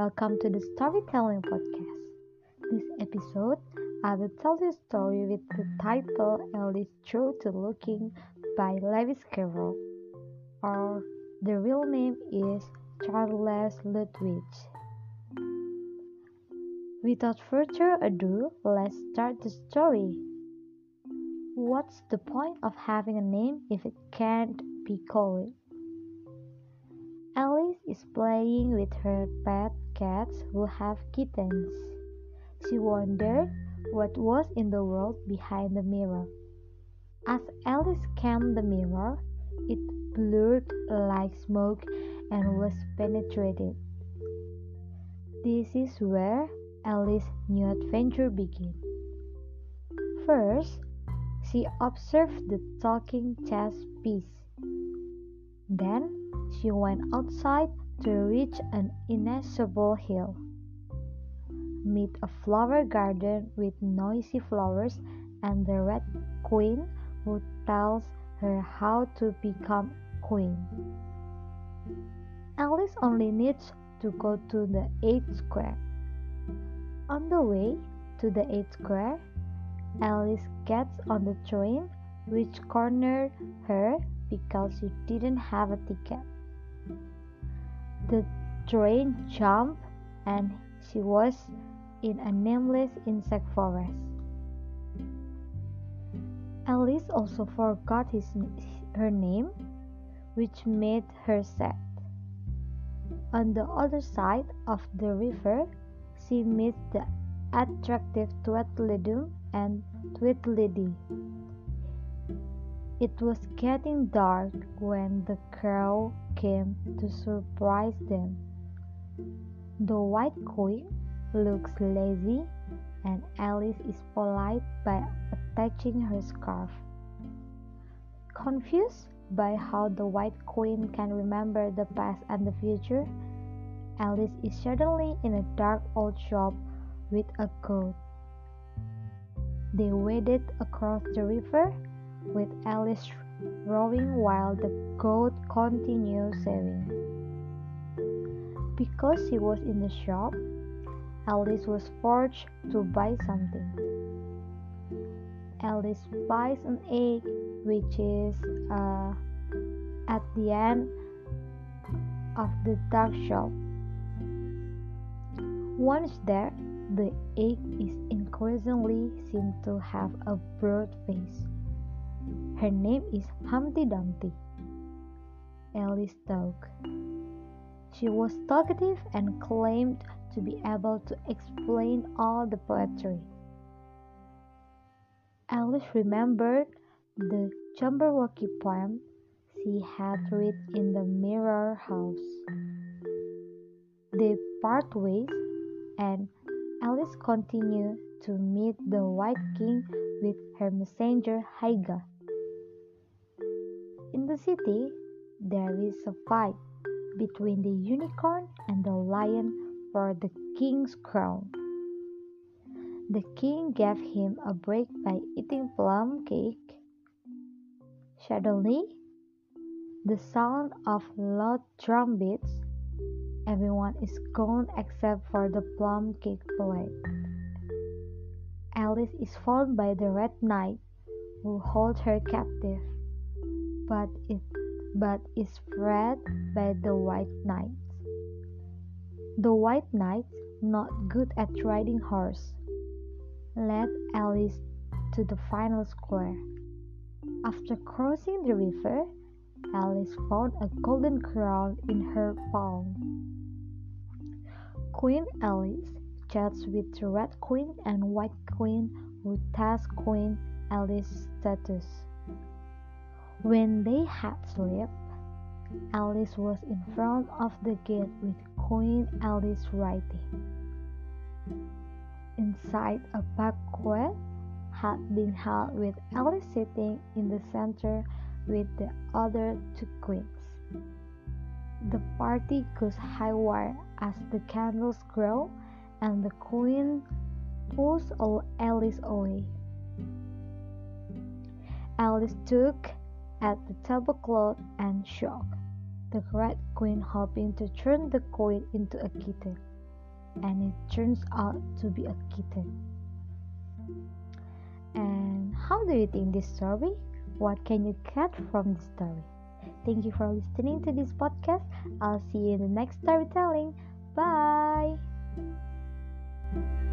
welcome to the Storytelling Podcast. This episode, I will tell you a story with the title Alice Through to Looking by Lewis Carroll, or the real name is Charles Ludwig. Without further ado, let's start the story. What's the point of having a name if it can't be called? Alice is playing with her pet cats who have kittens. She wondered what was in the world behind the mirror. As Alice scanned the mirror, it blurred like smoke and was penetrated. This is where Alice's new adventure began. First, she observed the talking chess piece. Then, she went outside to reach an inaccessible hill, meet a flower garden with noisy flowers, and the Red Queen who tells her how to become queen. Alice only needs to go to the 8th square. On the way to the 8th square, Alice gets on the train, which cornered her because she didn't have a ticket. The train jumped and she was in a nameless insect forest. Alice also forgot her name, which made her sad. On the other side of the river, she meets the attractive Tweedledum and Tweedledee. It was getting dark when the crow came to surprise them. The White Queen looks lazy, and Alice is polite by attaching her scarf. Confused by how the White Queen can remember the past and the future, Alice is suddenly in a dark old shop with a goat. They waded across the river, with Alice rowing while the goat continued sailing. Because she was in the shop, Alice was forced to buy something. Alice buys an egg, which is at the end of the dark shop. Once there, the egg is increasingly seen to have a broad face. Her name is Humpty Dumpty. Alice thought. She was talkative and claimed to be able to explain all the poetry. Alice remembered the Jabberwocky poem she had read in the Mirror House. They part ways, and Alice continued to meet the White King with her messenger Hyga. In the city, there is a fight between the unicorn and the lion for the king's crown. The king gave him a break by eating plum cake. Suddenly, the sound of loud drum beats. Everyone is gone except for the plum cake plate. Alice is found by the Red Knight, who holds her captive, but is freed by the White Knights. The White Knights, not good at riding horse, led Alice to the final square. After crossing the river, Alice found a golden crown in her palm. Queen Alice chats with the Red Queen and White Queen, who test Queen Alice's status. When they had slept, Alice was in front of the gate with Queen Alice writing. Inside, a banquet had been held with Alice sitting in the center with the other two queens. The party goes haywire as the candles grow and the queen pulls Alice away. Alice took at the tablecloth and shook the Red Queen, hoping to turn the queen into a kitten. and it turns out to be a kitten. And how do you think this story? What can you get from the story? Thank you for listening to this podcast. I'll see you in the next storytelling. Bye.